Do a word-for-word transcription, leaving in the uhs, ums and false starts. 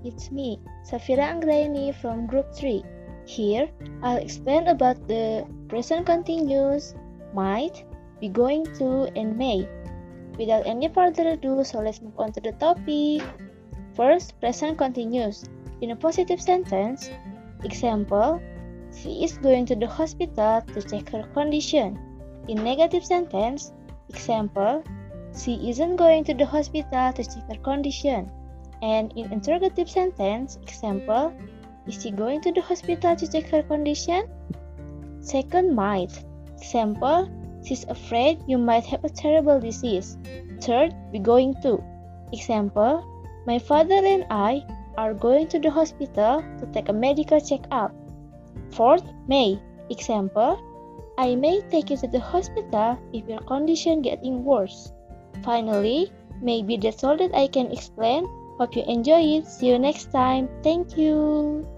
it's me, Safira Anggraini from Group three. Here, I'll explain about the present continuous, might, be going to, and may. Without any further ado, so let's move on to the topic. First, present continuous. In a positive sentence, example, she is going to the hospital to check her condition. In negative sentence, example, she isn't going to the hospital to check her condition. And in interrogative sentence, example, is she going to the hospital to check her condition? Second, might. Example, she's afraid you might have a terrible disease. Third, be going to. Example, my father and I are going to the hospital to take a medical check-up. Fourth, may. Example, I may take you to the hospital if your condition getting worse. Finally, maybe that's all that I can explain. Hope you enjoy it. See you next time. Thank you.